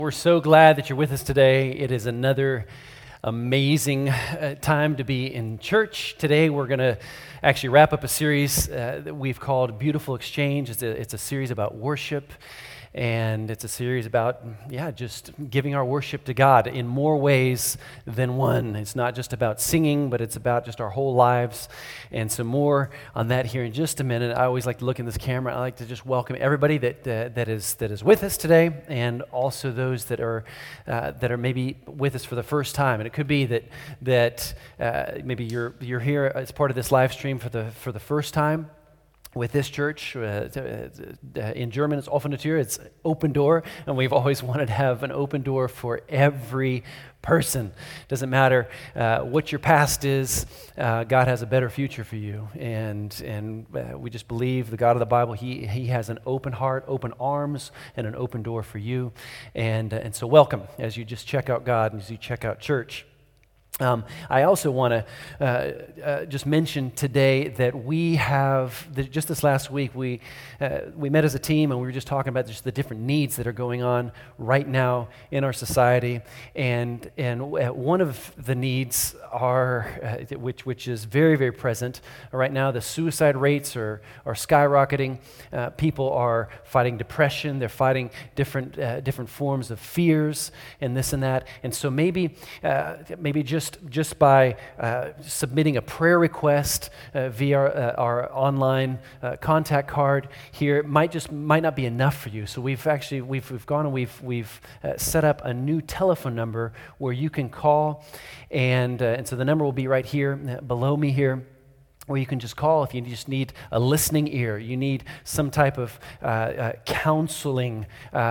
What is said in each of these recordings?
We're so glad that you're with us today. It is another amazing time to be in church. Today we're going to actually wrap up a series that we've called Beautiful Exchange. It's a series about worship, and it's a series about, just giving our worship to God in more ways than one. It's not just about singing, but it's about just our whole lives. And some more on that here in just a minute. I always like to look in this camera. I like to just welcome everybody that is with us today, and also those that are maybe with us for the first time. And it could be that maybe you're here as part of this live stream for the first time with this church. In German, it's offene Tür, it's open door, and we've always wanted to have an open door for every person. Doesn't matter what your past is, God has a better future for you, and we just believe the God of the Bible, He has an open heart, open arms, and an open door for you, and so welcome as you just check out God and as you check out church. I also want to just mention today that we have, just this last week, we met as a team, and we were just talking about just the different needs that are going on right now in our society. And one of the needs are, which is very, very present right now, the suicide rates are skyrocketing. People are fighting depression. They're fighting different forms of fears and this and that. And so maybe just by submitting a prayer request via our online contact card here, it might not be enough for you. So we've gone and we've set up a new telephone number where you can call, and so the number will be right here below me here, where you can just call if you just need a listening ear, you need some type of counseling.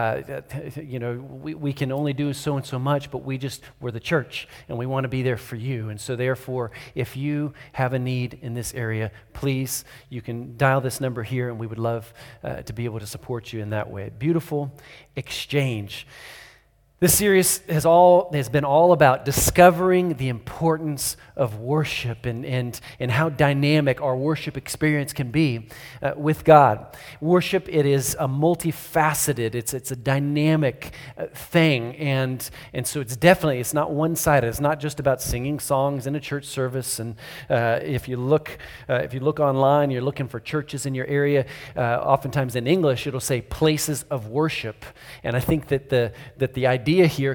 We can only do so and so much, but we're the church, and we want to be there for you. And so therefore, if you have a need in this area, please, you can dial this number here, and we would love to be able to support you in that way. Beautiful Exchange. This series has been all about discovering the importance of worship and how dynamic our worship experience can be with God. Worship, it is a multifaceted, it's a dynamic thing, and so it's not one-sided. It's not just about singing songs in a church service. And if you look online, you're looking for churches in your area. Oftentimes in English, it'll say places of worship, and I think that the idea here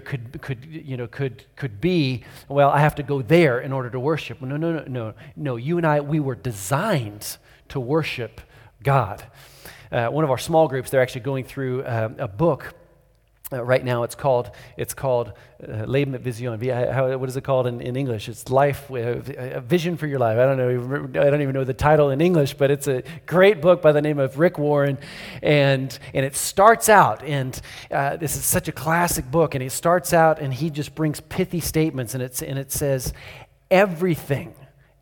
could be, well, I have to go there in order to worship. No. You and I, we were designed to worship God. One of our small groups, they're actually going through a book right now. It's called Leben mit Vision. What is it called in English? It's Life, a Vision for Your Life. I don't even know the title in English, but it's a great book by the name of Rick Warren, and it starts out, and this is such a classic book, and he starts out and he just brings pithy statements, and it says, everything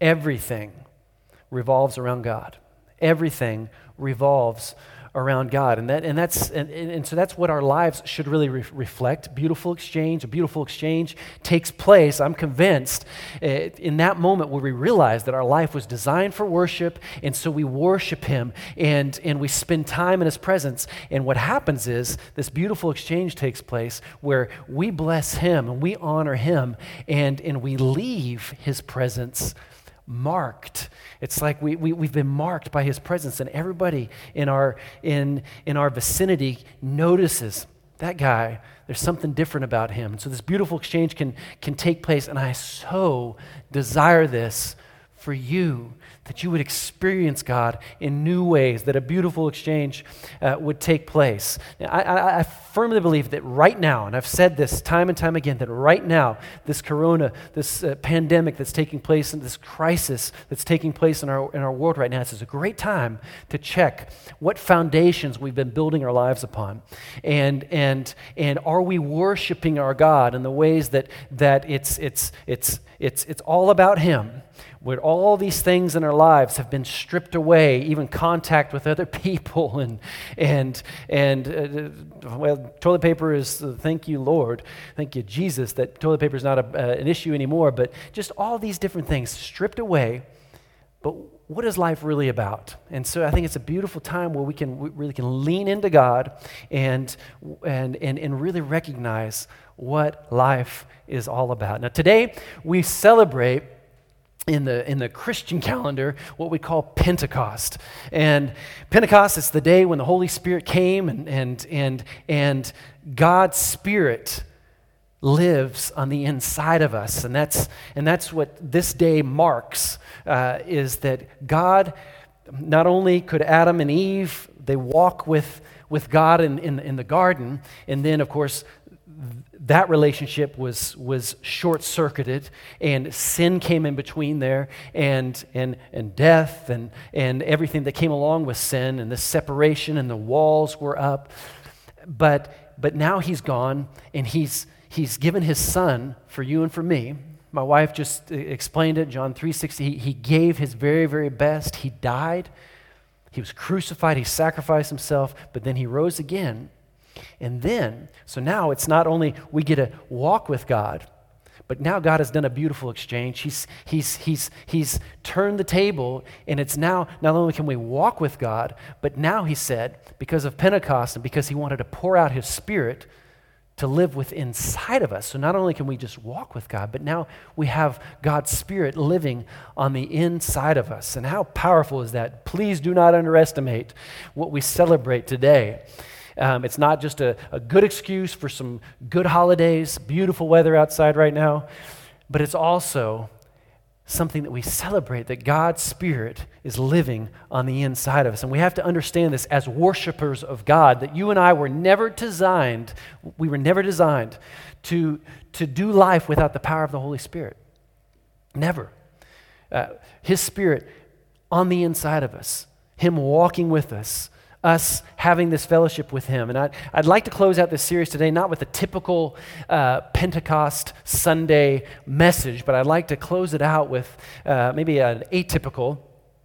revolves around God. Everything revolves around God, and so that's what our lives should really reflect. Beautiful exchange. A beautiful exchange takes place, I'm convinced, in that moment where we realize that our life was designed for worship, and so we worship Him, and we spend time in His presence. And what happens is this beautiful exchange takes place where we bless Him and we honor Him, and we leave His presence marked. It's like we've been marked by His presence, and everybody in our vicinity notices that guy. There's something different about him. And so this beautiful exchange can take place, and I so desire this for you, that you would experience God in new ways, that a beautiful exchange would take place. Now, I firmly believe that right now, and I've said this time and time again, that right now, this pandemic that's taking place, and this crisis that's taking place in our world right now, this is a great time to check what foundations we've been building our lives upon, and are we worshiping our God in the ways that it's all about Him, where all these things in our lives have been stripped away, even contact with other people, and toilet paper is, thank you, Lord, thank you, Jesus, that toilet paper is not an issue anymore, but just all these different things stripped away. But what is life really about? And so I think it's a beautiful time where we really can lean into God and really recognize what life is all about. Now today we celebrate in the Christian calendar what we call Pentecost. And Pentecost is the day when the Holy Spirit came and God's Spirit lives on the inside of us. And that's what this day marks, is that God, not only could Adam and Eve, they walk with God in the garden, and then of course that relationship was short-circuited, and sin came in between there, and death and everything that came along with sin, and the separation, and the walls were up. But now he's gone, and he's given his son for you and for me. My wife just explained it, John 3:16. He gave his very, very best. He died. He was crucified. He sacrificed himself, but then he rose again. And then, so now it's not only we get to walk with God, but now God has done a beautiful exchange. He's turned the table, and it's now not only can we walk with God, but now he said, because of Pentecost and because he wanted to pour out his Spirit to live within inside of us. So not only can we just walk with God, but now we have God's Spirit living on the inside of us. And how powerful is that? Please do not underestimate what we celebrate today. It's not just a good excuse for some good holidays, beautiful weather outside right now, but it's also something that we celebrate, that God's Spirit is living on the inside of us. And we have to understand this as worshipers of God, that you and I were never designed to do life without the power of the Holy Spirit. Never. His Spirit on the inside of us, Him walking with us having this fellowship with Him. And I'd like to close out this series today, not with a typical Pentecost Sunday message, but I'd like to close it out with maybe an atypical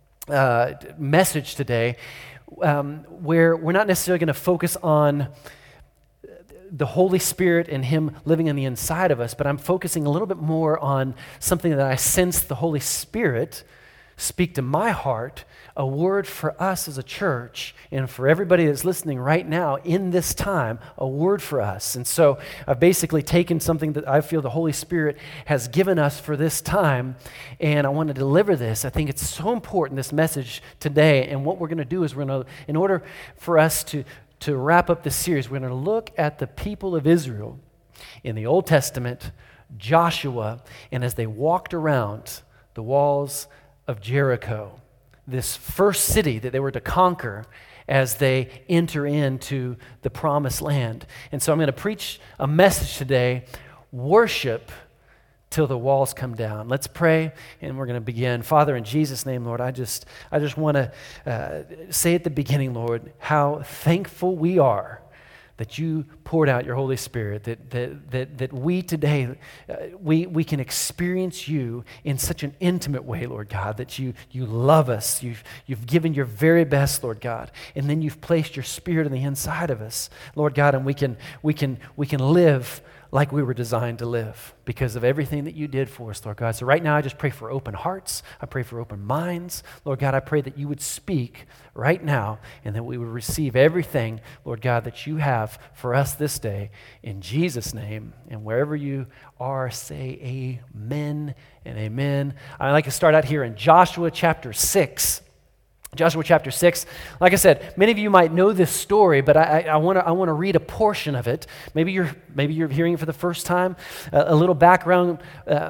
message today, where we're not necessarily going to focus on the Holy Spirit and Him living on the inside of us, but I'm focusing a little bit more on something that I sense the Holy Spirit speak to my heart, a word for us as a church, and for everybody that's listening right now in this time, a word for us. And so I've basically taken something that I feel the Holy Spirit has given us for this time, and I want to deliver this. I think it's so important, this message today, and what we're going to do is in order for us to wrap up this series, we're going to look at the people of Israel in the Old Testament, Joshua, and as they walked around the walls of Jericho, this first city that they were to conquer as they enter into the promised land. And so I'm going to preach a message today, worship till the walls come down. Let's pray, and we're going to begin. Father, in Jesus' name, Lord, I just want to say at the beginning, Lord, how thankful we are that you poured out your Holy Spirit, that we today, we can experience you in such an intimate way, Lord God, that you love us. You've given your very best, Lord God, and then you've placed your Spirit on the inside of us, Lord God, and we can live like we were designed to live because of everything that you did for us, Lord God. So right now I just pray for open hearts. I pray for open minds. Lord God, I pray that you would speak right now and that we would receive everything, Lord God, that you have for us this day. In Jesus' name, and wherever you are, say amen and amen. I'd like to start out here in Joshua chapter 6. Joshua chapter 6. Like I said, many of you might know this story, but I want to read a portion of it. Maybe you're hearing it for the first time. A little background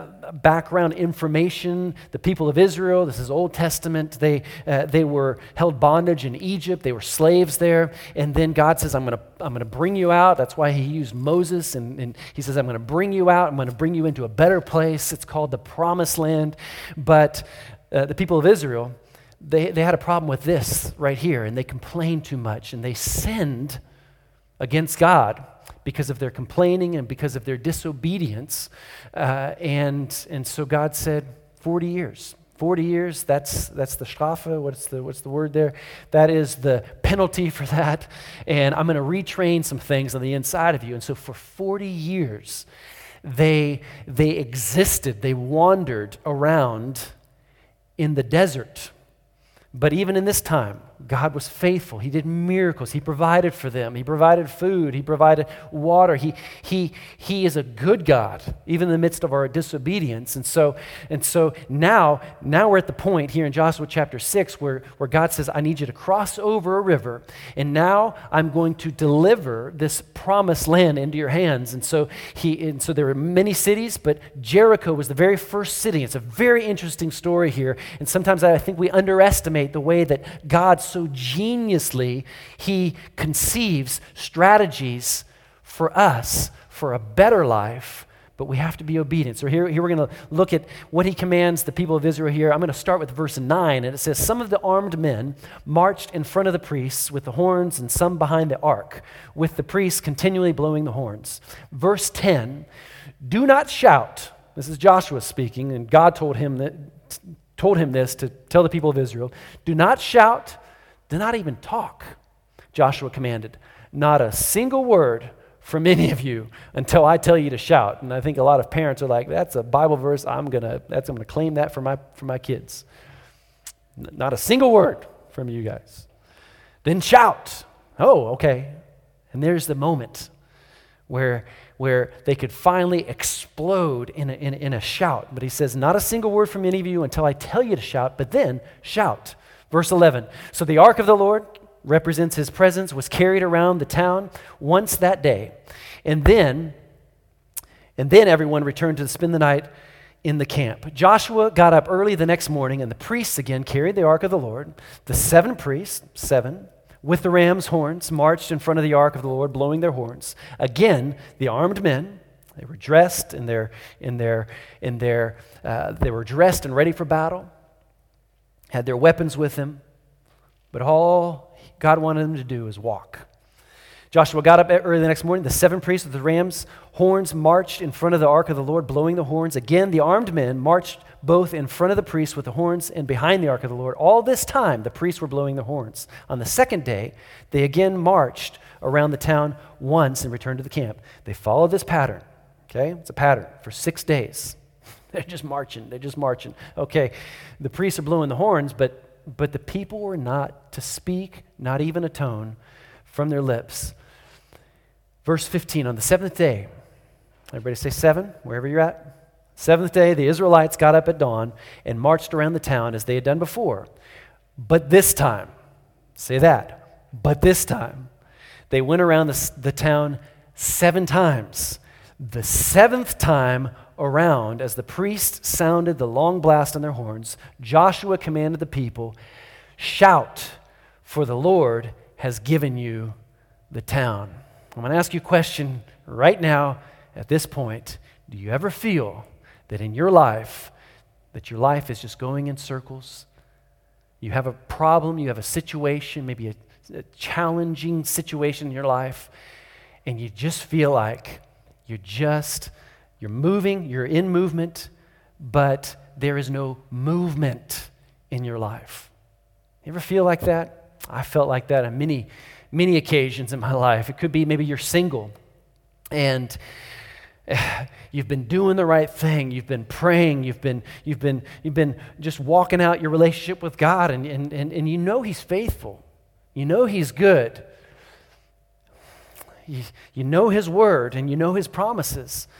information. The people of Israel. This is Old Testament. They were held bondage in Egypt. They were slaves there, and then God says, "I'm going to bring you out." That's why He used Moses, and He says, "I'm going to bring you out. I'm going to bring you into a better place." It's called the Promised Land. But the people of Israel, They had a problem with this right here, and they complained too much, and they sinned against God because of their complaining and because of their disobedience. And so God said, 40 years. 40 years, that's the Strafe. What's the word there? That is the penalty for that. And I'm going to retrain some things on the inside of you. And so for 40 years, they existed. They wandered around in the desert. But even in this time, God was faithful. He did miracles. He provided for them. He provided food. He provided water. He is a good God, even in the midst of our disobedience. And so now we're at the point here in Joshua chapter 6 where God says, I need you to cross over a river, and now I'm going to deliver this promised land into your hands. And so there were many cities, but Jericho was the very first city. It's a very interesting story here. And sometimes I think we underestimate the way that God so geniusly, he conceives strategies for us for a better life, but we have to be obedient. So here we're going to look at what he commands the people of Israel here. I'm going to start with verse 9, and it says, some of the armed men marched in front of the priests with the horns, and some behind the ark, with the priests continually blowing the horns. Verse 10, do not shout. This is Joshua speaking, and God told him this to tell the people of Israel. Do not shout, do not even talk. Joshua commanded, not a single word from any of you until I tell you to shout. And I think a lot of parents are like, that's a Bible verse. I'm gonna claim that for my kids. Not a single word from you guys. Then shout. Oh, okay. And there's the moment where they could finally explode in a shout. But he says, not a single word from any of you until I tell you to shout, but then shout. Verse 11, so the ark of the Lord represents his presence, was carried around the town once that day. And then everyone returned to spend the night in the camp. Joshua got up early the next morning, and the priests again carried the ark of the Lord. The 7 priests, with the ram's horns, marched in front of the ark of the Lord, blowing their horns. Again, the armed men, they were dressed they were dressed and ready for battle, had their weapons with them, but all God wanted them to do is walk. Joshua got up early the next morning. The 7 priests with the ram's horns marched in front of the ark of the Lord, blowing the horns. Again, the armed men marched both in front of the priests with the horns and behind the ark of the Lord. All this time, the priests were blowing the horns. On the second day, they again marched around the town once and returned to the camp. They followed this pattern, okay? It's a pattern for 6 days. They're just marching. Okay, the priests are blowing the horns, but the people were not to speak, not even a tone from their lips. Verse 15, on the 7th day, everybody say 7, wherever you're at. 7th day, the Israelites got up at dawn and marched around the town as they had done before. But this time, say that, but this time, they went around the town 7 times. The 7th time around, as the priests sounded the long blast on their horns, Joshua commanded the people, shout, for the Lord has given you the town. I'm going to ask you a question right now at this point. Do you ever feel that in your life, that your life is just going in circles? You have a problem, you have a situation, maybe a challenging situation in your life, and you just feel like you're moving, you're in movement, but there is no movement in your life. You ever feel like that? I felt like that on many occasions in my life. It could be maybe you're single and you've been doing the right thing. You've been praying. You've been just walking out your relationship with God, and you know He's faithful. You know He's good. You know His word and you know His promises.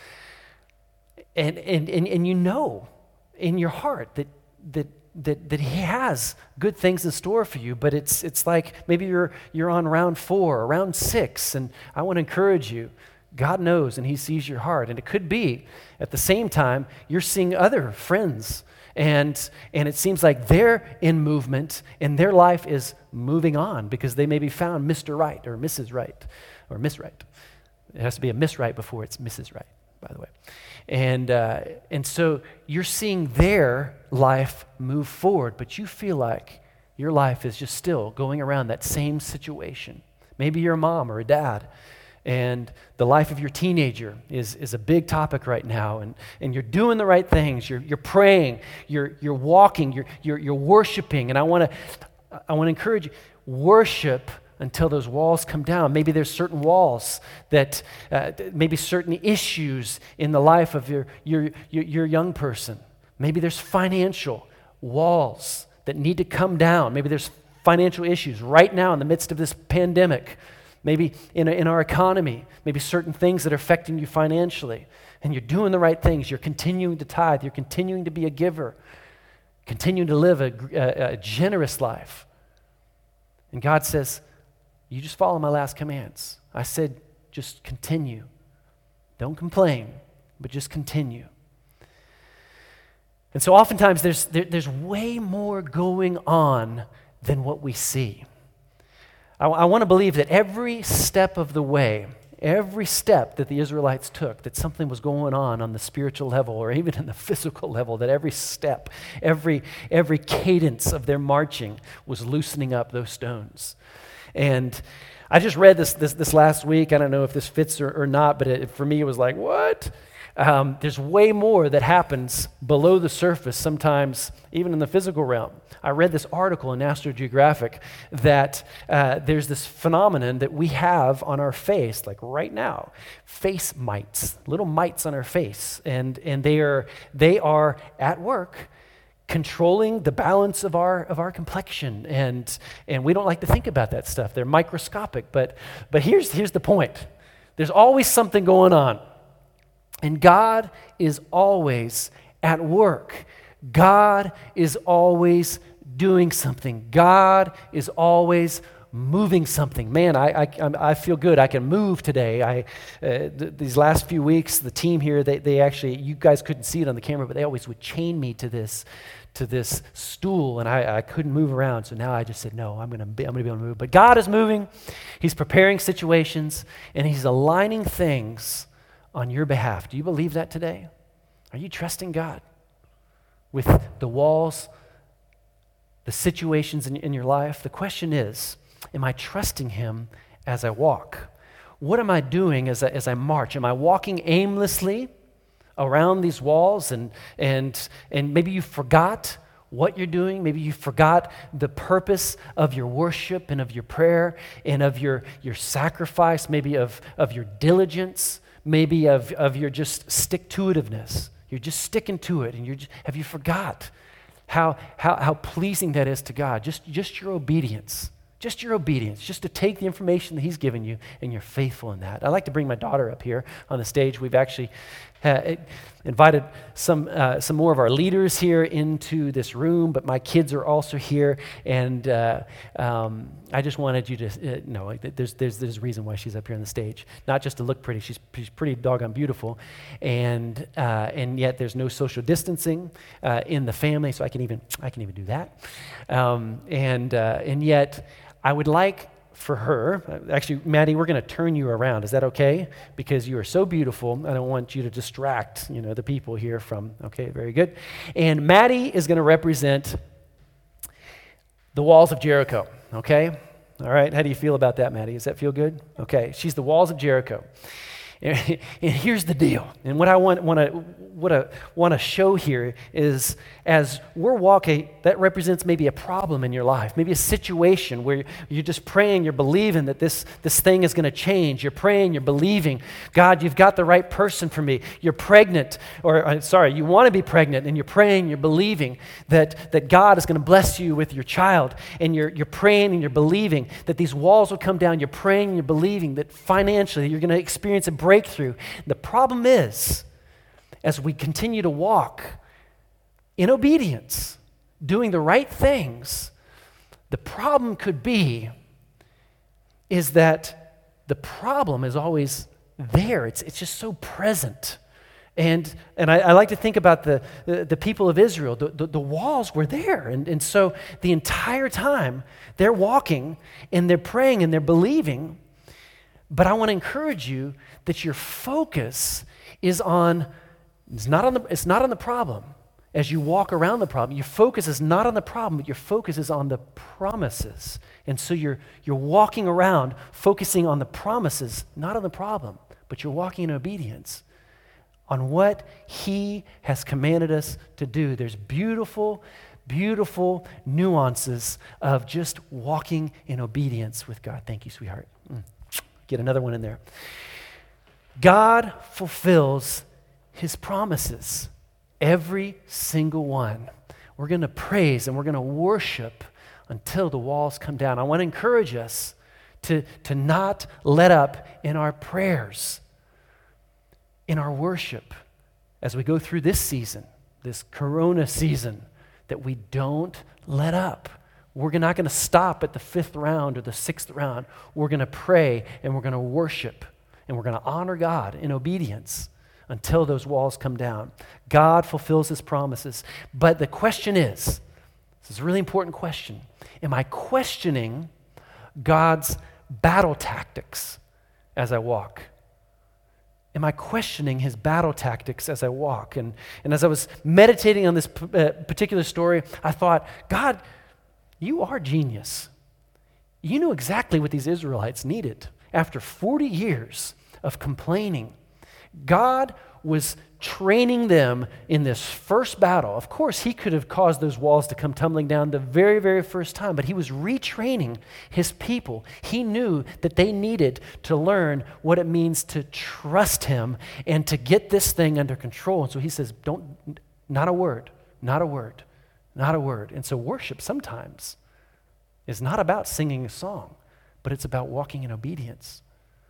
And you know in your heart that He has good things in store for you, but it's like maybe you're on round 4 or round 6, and I want to encourage you, God knows and He sees your heart. And it could be at the same time you're seeing other friends and it seems like they're in movement and their life is moving on because they maybe found Mr. Right or Mrs. Right or Miss Right. It has to be a Miss Right before it's Mrs. Right, by the way. And so you're seeing their life move forward, but you feel like your life is just still going around that same situation. Maybe you're a mom or a dad, and the life of your teenager is a big topic right now, and you're doing the right things. You're praying, you're walking, you're worshiping, and I want to encourage you, worship until those walls come down. Maybe there's certain walls that, maybe certain issues in the life of your young person. Maybe there's financial walls that need to come down. Maybe there's financial issues right now in the midst of this pandemic. Maybe in our economy, maybe certain things that are affecting you financially. And you're doing the right things. You're continuing to tithe. You're continuing to be a giver. Continuing to live a generous life. And God says, you just follow my last commands. I said, just continue. Don't complain, but just continue. And so oftentimes there's way more going on than what we see. I want to believe that every step of the way, every step that the Israelites took, that something was going on the spiritual level or even in the physical level, that every step, every cadence of their marching was loosening up those stones. And I just read this last week. I don't know if this fits or not, but for me it was like, what? There's way more that happens below the surface sometimes, even in the physical realm. I read this article in National Geographic that there's this phenomenon that we have on our face, like right now, face mites, little mites on our face, and they are at work controlling the balance of our complexion, and we don't like to think about that stuff. They're microscopic, but here's the point. There's always something going on. And God is always at work. God is always doing something. God is always moving something. Man, I feel good. I can move today. These last few weeks, the team here, they actually, you guys couldn't see it on the camera, but they always would chain me to this stool, and I couldn't move around. So now I just said, no, I'm gonna be able to move. But God is moving. He's preparing situations, and He's aligning things on your behalf. Do you believe that today? Are you trusting God with the walls, the situations in your life? The question is, am I trusting Him as I walk? What am I doing as I march? Am I walking aimlessly around these walls and maybe you forgot what you're doing? Maybe you forgot the purpose of your worship and of your prayer and of your sacrifice, maybe of your diligence, maybe of your just stick-to-itiveness. You're just sticking to it, and have you forgot how pleasing that is to God? Just your obedience. Just your obedience, just to take the information that He's given you, and you're faithful in that. I'd like to bring my daughter up here on the stage. We've actually invited some more of our leaders here into this room, but my kids are also here, and I just wanted you to know that there's a reason why she's up here on the stage. Not just to look pretty; she's pretty doggone beautiful, and yet there's no social distancing in the family, so I can even do that, and yet. I would like for her, actually, Maddie, we're going to turn you around. Is that okay? Because you are so beautiful, I don't want you to distract, the people here from, okay, very good. And Maddie is going to represent the walls of Jericho, okay? All right, how do you feel about that, Maddie? Does that feel good? Okay, she's the walls of Jericho. And here's the deal. And what I want to show here is, as we're walking, that represents maybe a problem in your life, maybe a situation where you're just praying, you're believing that this thing is going to change. You're praying, you're believing, God, you've got the right person for me. You're pregnant, you want to be pregnant, and you're praying, you're believing that God is going to bless you with your child, and you're praying and you're believing that these walls will come down. You're praying and you're believing that financially you're going to experience a breakthrough. The problem is, as we continue to walk in obedience, doing the right things, the problem could be is that the problem is always there. It's just so present. And I like to think about the people of Israel. The walls were there. And so the entire time they're walking and they're praying and they're believing. But I want to encourage you that your focus is not on the problem. As you walk around the problem, your focus is not on the problem, but your focus is on the promises. And so you're walking around focusing on the promises, not on the problem, but you're walking in obedience on what He has commanded us to do. There's beautiful, beautiful nuances of just walking in obedience with God. Thank you, sweetheart. Get another one in there. God fulfills His promises, every single one. we're going to praise and we're going to worship until the walls come down. I want to encourage us to not let up in our prayers, in our worship, as we go through this season, this Corona season, that we don't let up. We're not going to stop at the 5th round or the 6th round. We're going to pray and we're going to worship and we're going to honor God in obedience until those walls come down. God fulfills his promises. But the question is, this is a really important question, am I questioning God's battle tactics as I walk? Am I questioning his battle tactics as I walk? And as I was meditating on this particular story, I thought, God, you are genius. You knew exactly what these Israelites needed. After 40 years of complaining, God was training them in this first battle. Of course, he could have caused those walls to come tumbling down the very, very first time, but he was retraining his people. He knew that they needed to learn what it means to trust him and to get this thing under control. And so he says, not a word, not a word, not a word. And so worship sometimes is not about singing a song, but it's about walking in obedience.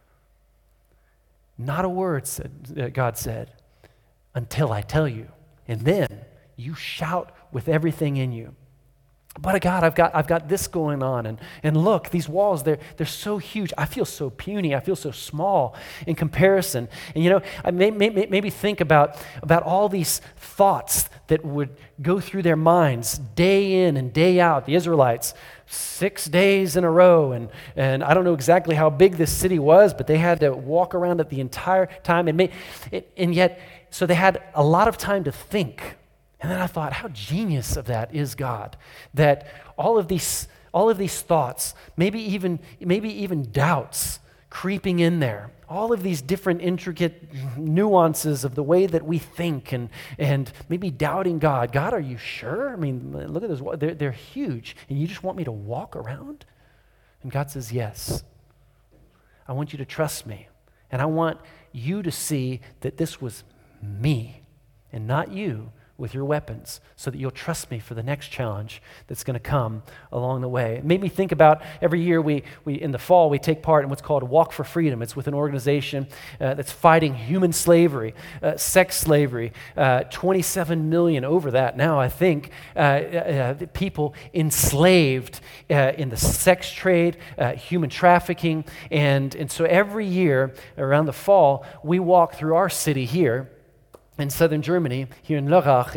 Not a word, God said, until I tell you. And then you shout with everything in you. But God, I've got this going on. And look, these walls, they're so huge. I feel so puny. I feel so small in comparison. And I maybe think about all these thoughts that would go through their minds day in and day out. The Israelites, 6 days in a row. And I don't know exactly how big this city was, but they had to walk around it the entire time. And yet, so they had a lot of time to think. And then I thought, how genius of that is God, that all of these thoughts, maybe even doubts creeping in there, all of these different intricate nuances of the way that we think and maybe doubting God. God, are you sure? I mean, look at those, they're huge, and you just want me to walk around? And God says, yes. I want you to trust me, and I want you to see that this was me and not you with your weapons, so that you'll trust me for the next challenge that's going to come along the way. It made me think about every year we in the fall we take part in what's called Walk for Freedom. It's with an organization that's fighting human slavery, sex slavery, 27 million over that now, I think, people enslaved in the sex trade, human trafficking, and so every year around the fall we walk through our city here in southern Germany, here in Lörrach,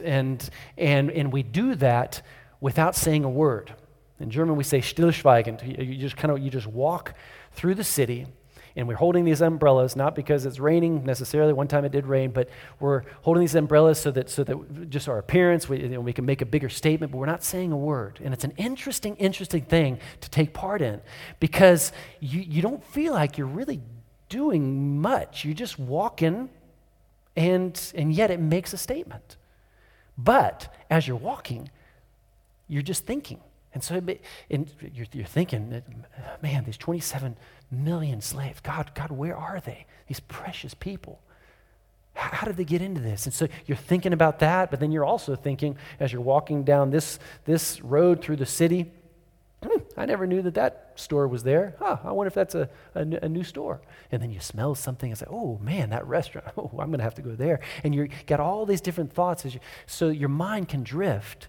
and we do that without saying a word. In German, we say stillschweigend. You just walk through the city, and we're holding these umbrellas, not because it's raining necessarily. One time it did rain, but we're holding these umbrellas so that just our appearance, we can make a bigger statement, but we're not saying a word. And it's an interesting thing to take part in, because you don't feel like you're really doing much. You're just walking. And yet it makes a statement. But as you're walking, you're just thinking. And so you're thinking, man, these 27 million slaves, God, where are they? These precious people. How did they get into this? And so you're thinking about that, but then you're also thinking, as you're walking down this road through the city, I never knew that store was there. I wonder if that's a new store. And then you smell something and say, oh man, that restaurant, I'm going to have to go there. And you got all these different thoughts, so your mind can drift.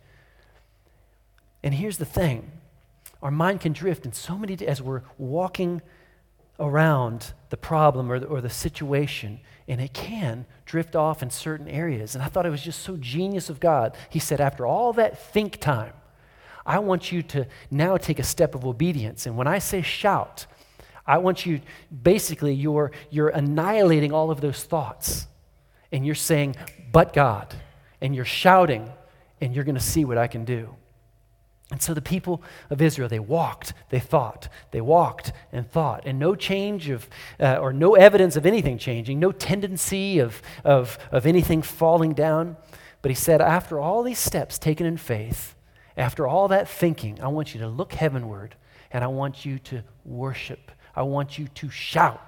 And here's the thing, our mind can drift in so many, as we're walking around the problem or the situation, and it can drift off in certain areas. And I thought it was just so genius of God. He said, after all that think time, I want you to now take a step of obedience. And when I say shout, I want you, basically, you're annihilating all of those thoughts. And you're saying, but God. And you're shouting, and you're going to see what I can do. And so the people of Israel, they walked, they thought. They walked and thought. And no change or no evidence of anything changing, no tendency of anything falling down. But he said, after all these steps taken in faith, after all that thinking, I want you to look heavenward, and I want you to worship. I want you to shout,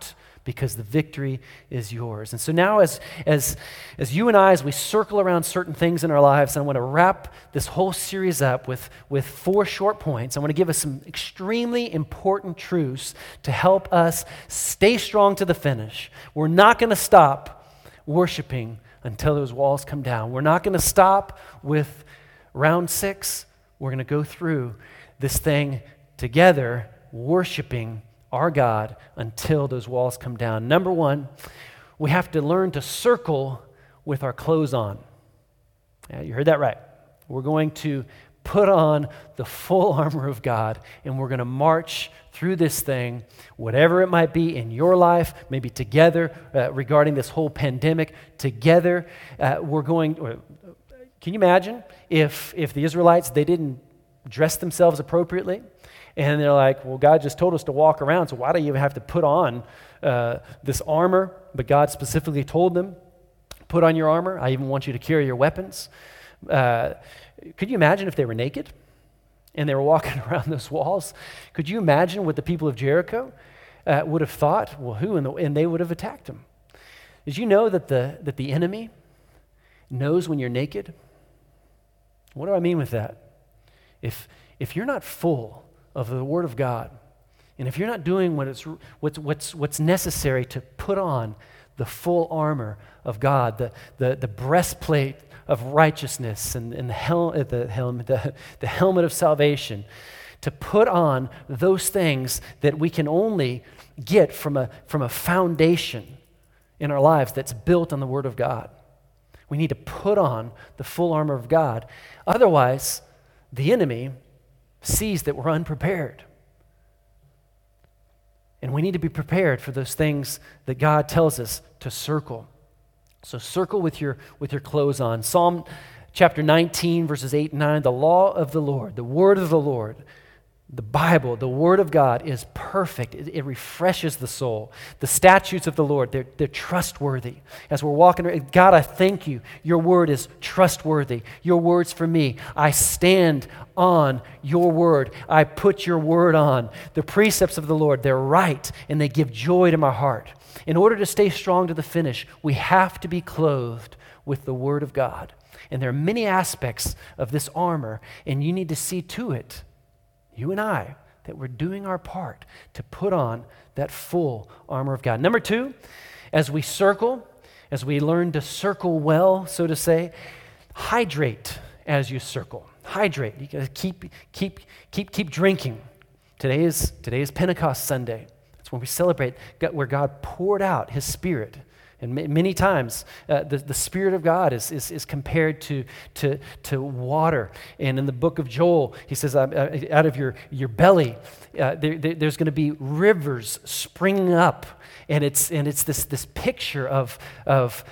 because the victory is yours. And so now as you and I, as we circle around certain things in our lives, I want to wrap this whole series up with 4 short points. I want to give us some extremely important truths to help us stay strong to the finish. We're not going to stop worshiping until those walls come down. We're not going to stop with round 6. We're going to go through this thing together, worshiping our God until those walls come down. Number 1, we have to learn to circle with our clothes on. Yeah, you heard that right. We're going to put on the full armor of God, and we're going to march through this thing, whatever it might be in your life, maybe together regarding this whole pandemic. Together, we're going. Can you imagine if the Israelites, they didn't dress themselves appropriately? And they're like, well, God just told us to walk around, so why do you even have to put on this armor? But God specifically told them, put on your armor. I even want you to carry your weapons. Could you imagine if they were naked and they were walking around those walls? Could you imagine what the people of Jericho would have thought? Well, and they would have attacked them. Did you know that the enemy knows when you're naked? What do I mean with that? If you're not full of the Word of God, and if you're not doing what's necessary to put on the full armor of God, the breastplate of righteousness and the helmet of salvation, to put on those things that we can only get from a foundation in our lives that's built on the Word of God. We need to put on the full armor of God. Otherwise, the enemy sees that we're unprepared. And we need to be prepared for those things that God tells us to circle. So circle with your clothes on. Psalm chapter 19, verses 8 and 9, the law of the Lord, the word of the Lord, the Bible, the Word of God is perfect. It refreshes the soul. The statutes of the Lord, they're trustworthy. As we're walking, God, I thank you. Your Word is trustworthy. Your word's for me. I stand on your Word. I put your Word on. The precepts of the Lord, they're right, and they give joy to my heart. In order to stay strong to the finish, we have to be clothed with the Word of God. And there are many aspects of this armor, and you need to see to it, you and I, that we're doing our part to put on that full armor of God. Number 2, as we learn to circle well, so to say, hydrate as you circle. Hydrate. You gotta keep drinking. Today is Pentecost Sunday. That's when we celebrate where God poured out His Spirit. And many times, the Spirit of God is compared to water. And in the book of Joel, he says, out of your belly, there's going to be rivers springing up. And it's this picture of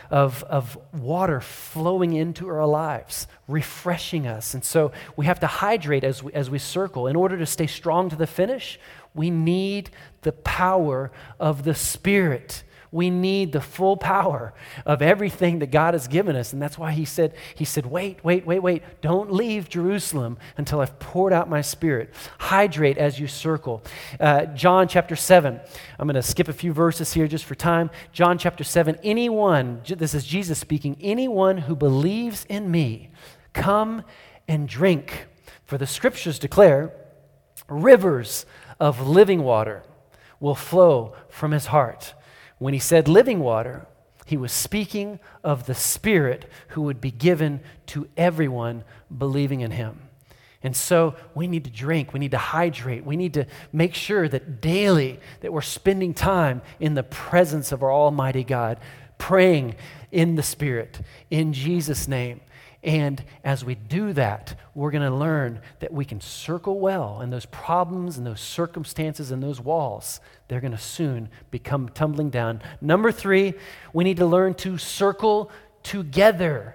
water flowing into our lives, refreshing us. And so we have to hydrate as we circle. In order to stay strong to the finish, we need the power of the Spirit. We need the full power of everything that God has given us. And that's why he said, wait. Don't leave Jerusalem until I've poured out my Spirit. Hydrate as you circle. John chapter 7. I'm going to skip a few verses here just for time. John chapter 7. This is Jesus speaking, anyone who believes in me, come and drink. For the scriptures declare, rivers of living water will flow from his heart. When he said living water, he was speaking of the Spirit who would be given to everyone believing in him. And so we need to drink, we need to hydrate, we need to make sure that daily that we're spending time in the presence of our Almighty God, praying in the Spirit, in Jesus' name. And as we do that, we're going to learn that we can circle well, and those problems and those circumstances and those walls, they're going to soon become tumbling down. Number 3, we need to learn to circle together,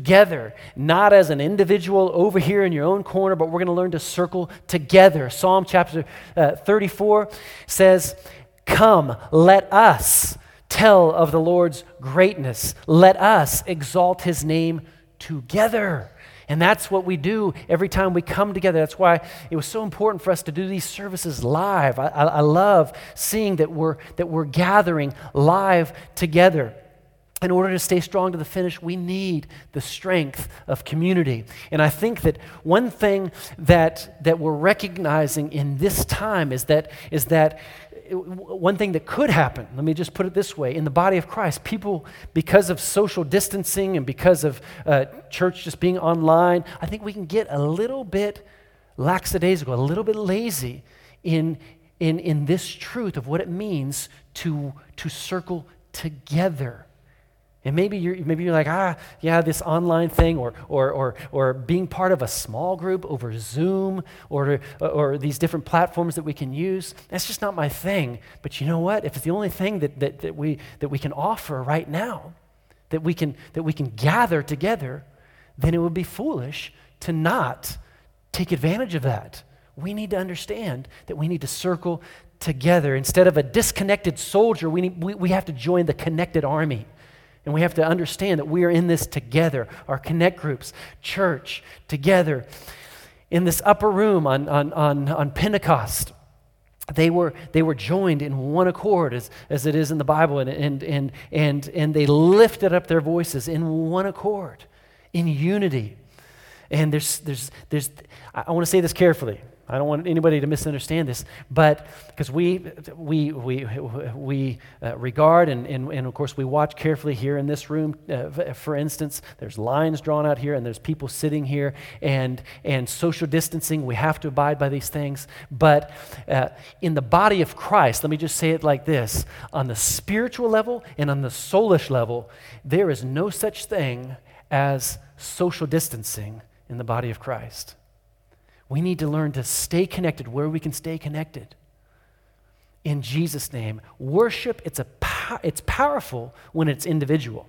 not as an individual over here in your own corner, but we're going to learn to circle together. Psalm chapter 34 says, come, let us tell of the Lord's greatness. Let us exalt his name together. And that's what we do every time we come together. That's why it was so important for us to do these services live. I love seeing that we're gathering live together. In order to stay strong to the finish, we need the strength of community. And I think that one thing that we're recognizing in this time is that one thing that could happen, let me just put it this way, in the body of Christ, people, because of social distancing and because of church just being online, I think we can get a little bit lackadaisical, a little bit lazy in this truth of what it means to circle together. And maybe you're like, this online thing, or being part of a small group over Zoom, or these different platforms that we can use. That's just not my thing. But you know what? If it's the only thing that we can offer right now, that we can gather together, then it would be foolish to not take advantage of that. We need to understand that we need to circle together. Instead of a disconnected soldier, we have to join the connected army. And we have to understand that we are in this together, our connect groups, church, together. In this upper room on Pentecost, they were joined in one accord, as it is in the Bible, and they lifted up their voices in one accord, in unity. And I want to say this carefully. I don't want anybody to misunderstand this, but because we regard and of course we watch carefully here in this room. For instance, there's lines drawn out here, and there's people sitting here, and social distancing. We have to abide by these things. But in the body of Christ, let me just say it like this: on the spiritual level and on the soulish level, there is no such thing as social distancing in the body of Christ. We need to learn to stay connected where we can stay connected. In Jesus' name, worship, it's powerful when it's individual.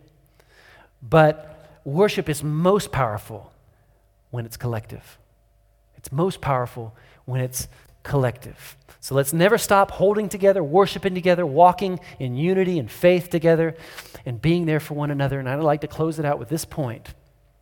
But worship is most powerful when it's collective. It's most powerful when it's collective. So let's never stop holding together, worshiping together, walking in unity and faith together, and being there for one another. And I'd like to close it out with this point.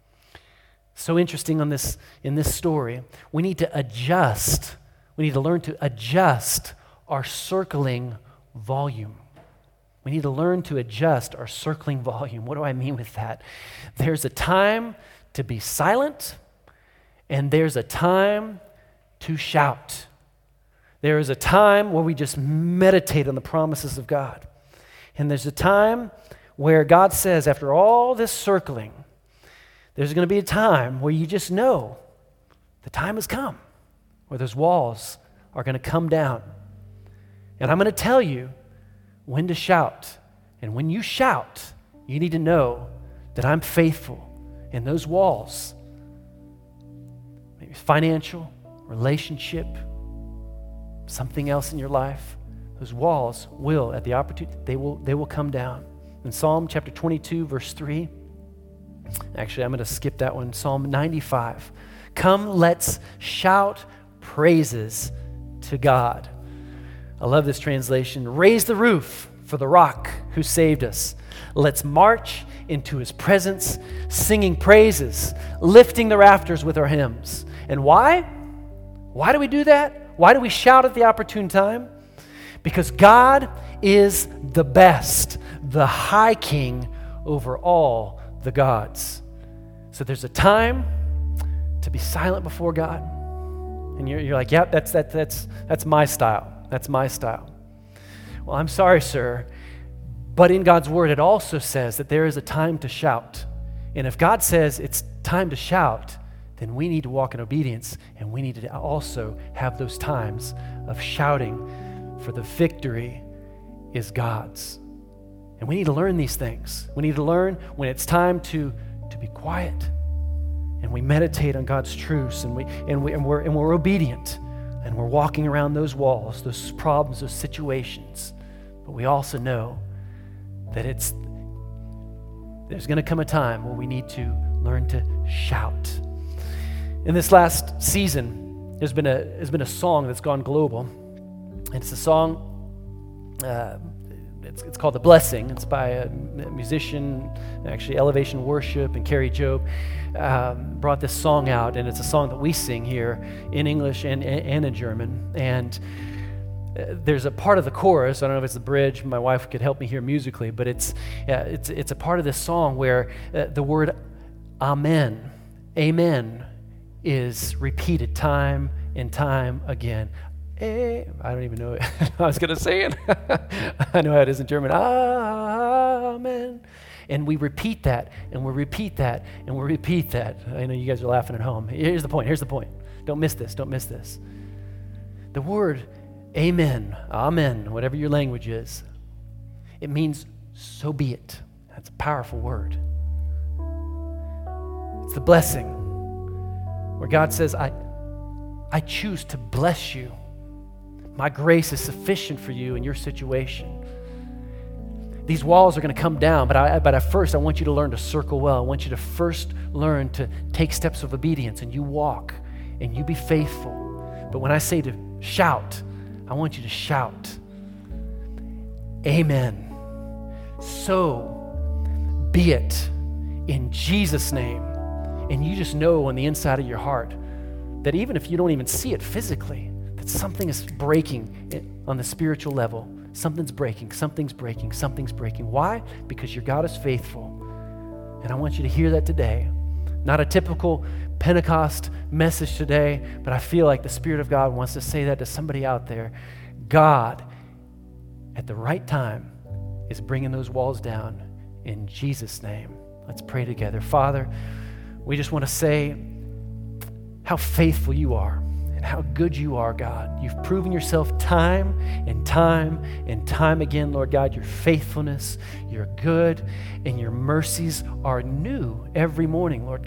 So interesting in this story. We need to adjust. We need to learn to adjust our circling volume. We need to learn to adjust our circling volume. What do I mean with that? There's a time to be silent, and there's a time to shout. There is a time where we just meditate on the promises of God. And there's a time where God says, after all this circling, there's going to be a time where you just know the time has come, where those walls are going to come down. And I'm going to tell you when to shout. And when you shout, you need to know that I'm faithful. And those walls, maybe financial, relationship, something else in your life, those walls will, at the opportunity, they will come down. In Psalm chapter 22, verse 3, actually, I'm going to skip that one. Psalm 95. Come, let's shout praises to God. I love this translation. Raise the roof for the rock who saved us. Let's march into his presence, singing praises, lifting the rafters with our hymns. And why? Why do we do that? Why do we shout at the opportune time? Because God is the best, the high king over all the gods. So there's a time to be silent before God. And you're like, yep, that's my style. That's my style. Well, I'm sorry, sir, but in God's word it also says that there is a time to shout. And if God says it's time to shout, then we need to walk in obedience, and we need to also have those times of shouting, for the victory is God's. And we need to learn these things. We need to learn when it's time to be quiet, and we meditate on God's truths, and we're obedient, and we're walking around those walls, those problems, those situations. But we also know that there's going to come a time where we need to learn to shout. In this last season, there's been a song that's gone global, and it's a song it's called The Blessing. It's by a musician, actually Elevation Worship, and Carrie Job brought this song out, and it's a song that we sing here in English and in German. And there's a part of the chorus, I don't know if it's the bridge, my wife could help me here musically, but it's a part of this song where the word amen, is repeated time and time again. I don't even know it. I was going to say it. I know how it is in German. Amen. And we repeat that, and we repeat that, and we repeat that. I know you guys are laughing at home. Here's the point. Don't miss this. The word amen, whatever your language is, it means so be it. That's a powerful word. It's the blessing where God says, I choose to bless you. My grace is sufficient for you in your situation. These walls are going to come down, but at first I want you to learn to circle well. I want you to first learn to take steps of obedience, and you walk and you be faithful. But when I say to shout, I want you to shout, amen. So be it in Jesus' name. And you just know on the inside of your heart that even if you don't even see it physically, that something is breaking on the spiritual level. Something's breaking. Why? Because your God is faithful. And I want you to hear that today. Not a typical Pentecost message today, but I feel like the Spirit of God wants to say that to somebody out there. God, at the right time, is bringing those walls down in Jesus' name. Let's pray together. Father, we just want to say how faithful you are and how good you are, God. You've proven yourself time and time again, Lord God. Your faithfulness, you're good, and your mercies are new every morning, Lord God.